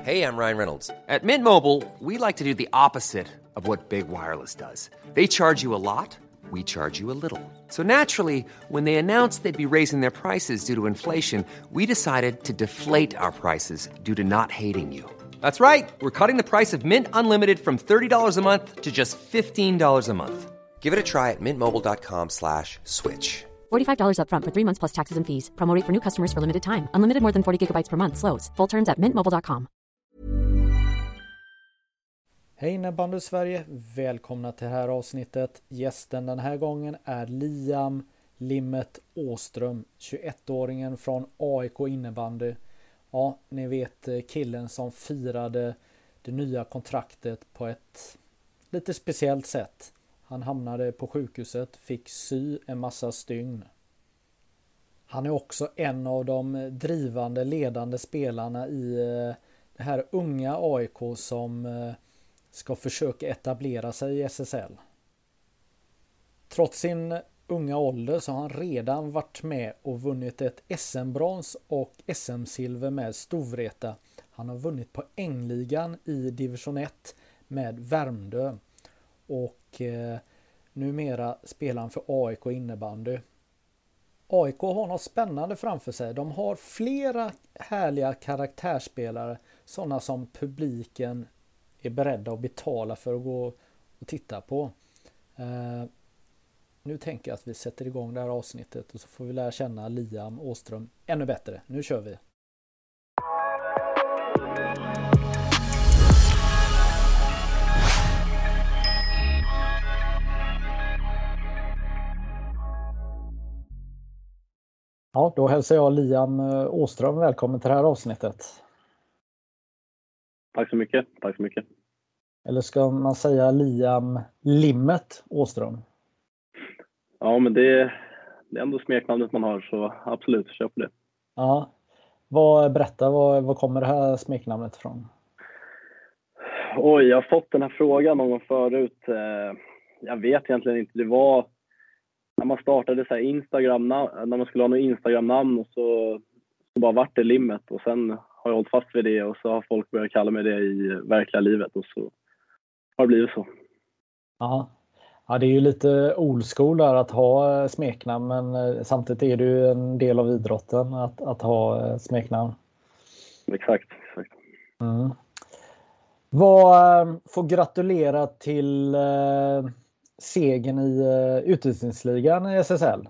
Hey, I'm Ryan Reynolds. At Mint Mobile, we like to do the opposite of what Big Wireless does. They charge you a lot, we charge you a little. So naturally, when they announced they'd be raising their prices due to inflation, we decided to deflate our prices due to not hating you. That's right. We're cutting the price of Mint Unlimited from $30 a month to just $15 a month. Give it a try at mintmobile.com/switch. $45 up front for 3 months plus taxes and fees. Promo rate for new customers for limited time. Unlimited more than 40 gigabytes per month. Slows full terms at mintmobile.com. Hej innebandy Sverige, välkomna till det här avsnittet. Gästen den här gången är Liam Limmet Åström, 21-åringen från AIK innebandy. Ja, ni vet killen som firade det nya kontraktet på ett lite speciellt sätt. Han hamnade på sjukhuset, fick sy en massa stygn. Han är också en av de drivande, ledande spelarna i det här unga AIK som ska försöka etablera sig i SSL. Trots sin unga ålder så har han redan varit med och vunnit ett SM-brons och SM-silver med Storvreta. Han har vunnit på Ängligan i division 1 med Värmdö. Och numera spelar han för AIK innebandy. AIK har något spännande framför sig. De har flera härliga karaktärsspelare. Sådana som publiken är beredda att betala för att gå och titta på. Nu tänker jag att vi sätter igång det här avsnittet och så får vi lära känna Liam Åström ännu bättre. Nu kör vi! Ja, då hälsar jag Liam Åström välkommen till det här avsnittet. Tack så mycket, tack så mycket. Eller ska man säga Liam Limmet Åström? Ja, men det är ändå smeknamnet man har, så absolut, kör på det. Ja, berätta, vad kommer det här smeknamnet ifrån? Oj, jag har fått den här frågan någon gång förut. Jag vet egentligen inte, det var när man startade så här Instagram, när man skulle ha något Instagram-namn och så bara vart det Limmet och sen har jag hållit fast vid det och så har folk börjat kalla mig det i verkliga livet och så har det blivit så. Ja, det är ju lite old school där att ha smeknamn, men samtidigt är det ju en del av idrotten att ha smeknamn. Exakt. Mm. Vad får gratulera till segern i utvisningsligan i SSL?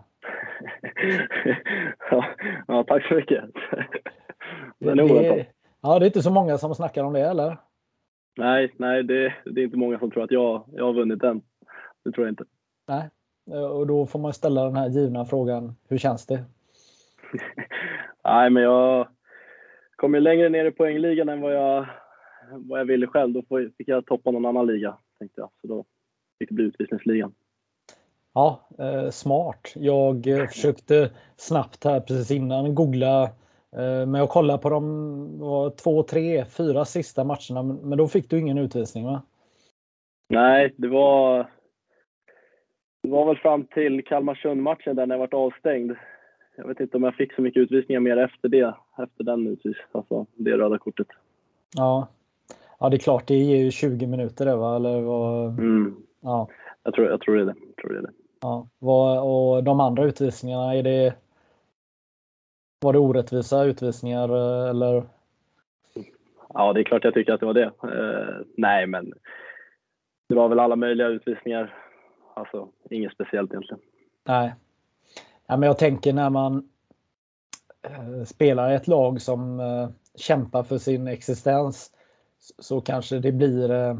Ja, tack så mycket. Det är inte så många som snackar om det, eller? Nej, det är inte många som tror att jag har vunnit den. Det tror jag inte. Nej, och då får man ställa den här givna frågan. Hur känns det? Nej, men jag kom ju längre ner i poängligan än vad jag ville själv. Då fick jag toppa någon annan liga, tänkte jag. Så då fick det bli utvisningsligan. Ja, smart. Jag försökte snabbt här precis innan googla. Men jag kollade på de 2, 3, 4 sista matcherna. Men då fick du ingen utvisning, va? Nej, det var väl fram till Kalmarsund-matchen där när jag varit avstängd. Jag vet inte om jag fick så mycket utvisningar mer efter den utvisningen. Alltså det röda kortet. Ja, det är klart. Det ger ju 20 minuter det, va? Eller vad? Ja. Jag tror det är det. Ja. Och de andra utvisningarna, var det orättvisa utvisningar eller? Ja, det är klart jag tycker att det var det. Nej, men det var väl alla möjliga utvisningar. Alltså, inget speciellt egentligen. Nej. Ja, men jag tänker när man spelar i ett lag som kämpar för sin existens så kanske det blir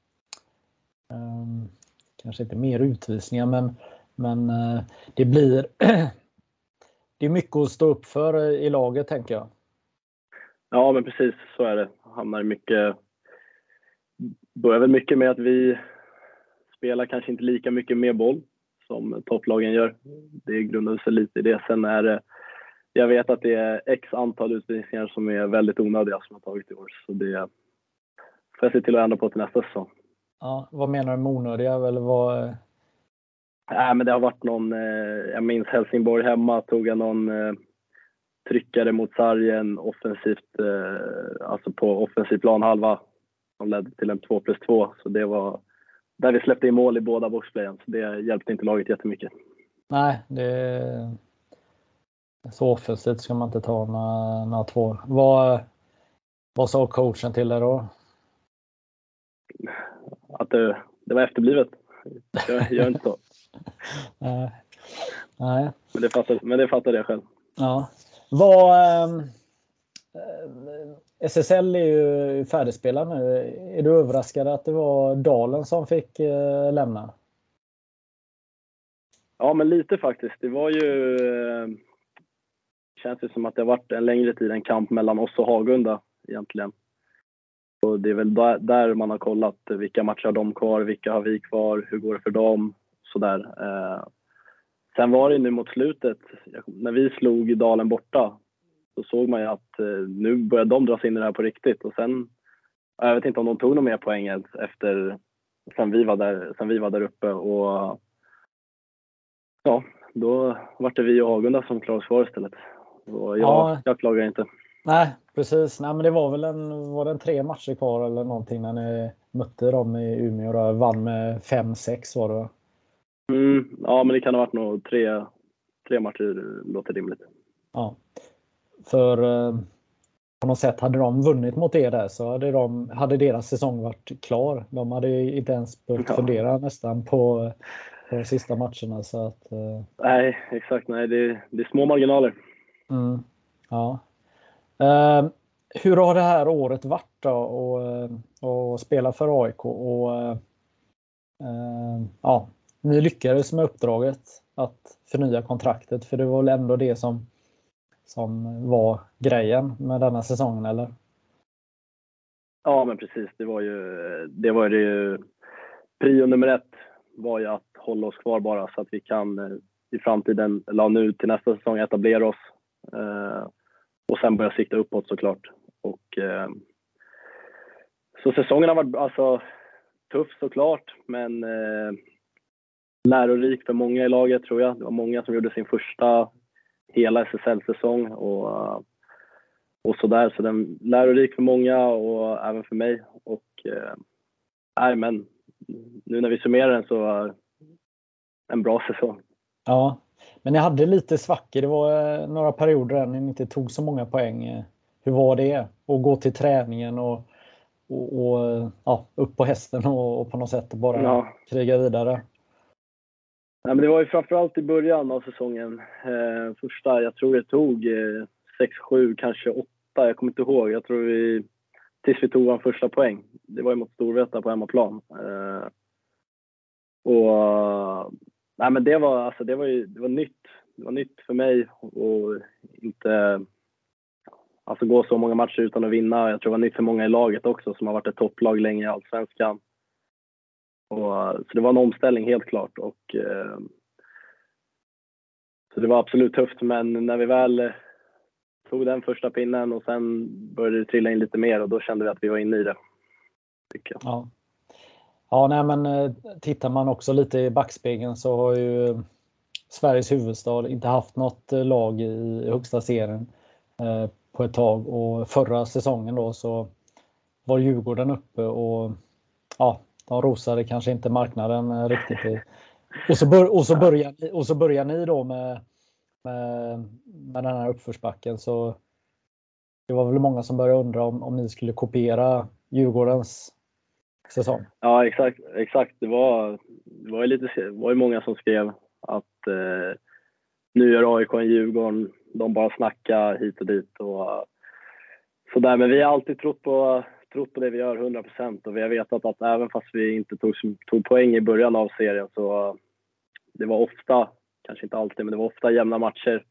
kanske inte mer utvisningar, men det blir det är mycket att stå upp för i laget, tänker jag. Ja, men precis så är det. Börjar väl mycket med att vi spelar kanske inte lika mycket med boll som topplagen gör. Det grundar sig lite i det. Sen är det, jag vet att det är x antal utvisningar som är väldigt onödiga som jag har tagit i år. Så det får jag se till att ändra på till nästa säsong. Ja, vad menar du med onödiga? Eller vad? Nej, men det har varit någon, jag minns Helsingborg hemma, tog jag någon tryckare mot sargen offensivt, alltså på offensiv planhalva som ledde till en 2+2. Så det var där vi släppte in mål i båda boxplayen. Så det hjälpte inte laget jättemycket. Nej, så offensivt ska man inte ta några två. Vad sa coachen till er då? Att det var efterblivet. Jag gör inte så. Nej. Men det fattade jag själv. Ja. SSL är ju färdigspelad nu. Är du överraskad att det var Dalen som fick lämna? Ja, men lite faktiskt. Det var ju... känns ju som att det har varit en längre tid en kamp mellan oss och Hagunda egentligen. Och det är väl där man har kollat vilka matcher har de kvar, vilka har vi kvar, hur går det för dem, sådär. Sen var det nu mot slutet, när vi slog Dalen borta, så såg man ju att nu började de dras in i det här på riktigt. Och sen, jag vet inte om de tog någon mer poäng efter, sen vi var där uppe. Och ja, då var det vi och Hagunda som klarade oss kvar istället. Och jag klagar inte. Nej, precis. Nej, men det var väl var det 3 matcher kvar eller någonting när ni mötte dem i Umeå och vann med 5-6 var det? Ja, men det kan ha varit nog 3 matcher, låter rimligt. Ja, för på något sätt hade de vunnit mot er där så hade deras säsong varit klar. De hade inte ens behövt fundera nästan på de sista matcherna. Så att, nej, exakt. Nej, det är små marginaler. Ja. Hur har det här året varit då och spela för AIK? Och ni lyckades med uppdraget att förnya kontraktet, för det var väl ändå det som var grejen med denna säsongen, eller? Ja, men precis. Det var ju prio nummer 1 var ju att hålla oss kvar bara så att vi kan i framtiden, eller nu till nästa säsong, etablera oss och sen börja sikta uppåt såklart. Och så säsongen har varit alltså tuff såklart, men lärorik för många i laget tror jag. Det var många som gjorde sin första hela SSL-säsong och sådär. Så den lärorik för många och även för mig. Och men nu när vi summerar den så var en bra säsong. Ja, men ni hade lite svackor. Det var några perioder där ni inte tog så många poäng. Hur var det att gå till träningen och upp på hästen och på något sätt bara kriga vidare? Ja, men det var ju framförallt i början av säsongen. Första, jag tror det tog 6-7, kanske 8. Jag kommer inte ihåg. Jag tror tills vi tog vår första poäng. Det var ju mot Storvreta på hemmaplan. Men det var nytt. Det var nytt för mig och inte gå så många matcher utan att vinna. Jag tror det var nytt för många i laget också som har varit ett topplag länge i Allsvenskan. Så det var en omställning helt klart. Och så det var absolut tufft, men när vi väl tog den första pinnen och sen började det trilla in lite mer och då kände vi att vi var inne i det, tycker jag. Ja, nej, men tittar man också lite i backspegeln så har ju Sveriges huvudstad inte haft något lag i högsta serien på ett tag, och förra säsongen då så var Djurgården uppe och de rosade kanske inte marknaden riktigt. Och så börjar ni då med den här uppförsbacken, så det var väl många som började undra om ni skulle kopiera Djurgårdens säsong. Ja, exakt. Det var ju många som skrev att nu gör AIK en Djurgården, de bara snackar hit och dit och sådär. Men vi har alltid trott på det vi gör 100%, och vi har vetat att även fast vi inte tog poäng i början av serien så det var ofta, kanske inte alltid, men det var ofta jämna matcher.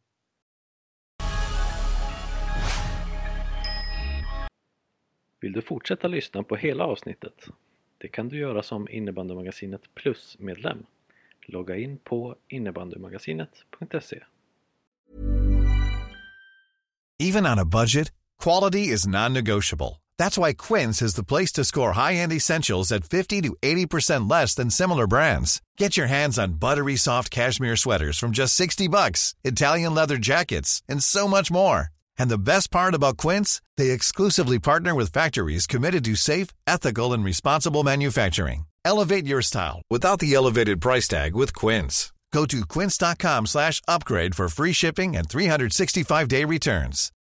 Vill du fortsätta lyssna på hela avsnittet? Det kan du göra som Innebandymagasinet Plus-medlem. Logga in på innebandymagasinet.se. Even on a budget, quality is non-negotiable. That's why Quince is the place to score high-end essentials at 50 to 80% less than similar brands. Get your hands on buttery soft cashmere sweaters from just $60, Italian leather jackets, and so much more. And the best part about Quince, they exclusively partner with factories committed to safe, ethical, and responsible manufacturing. Elevate your style without the elevated price tag with Quince. Go to quince.com/upgrade for free shipping and 365-day returns.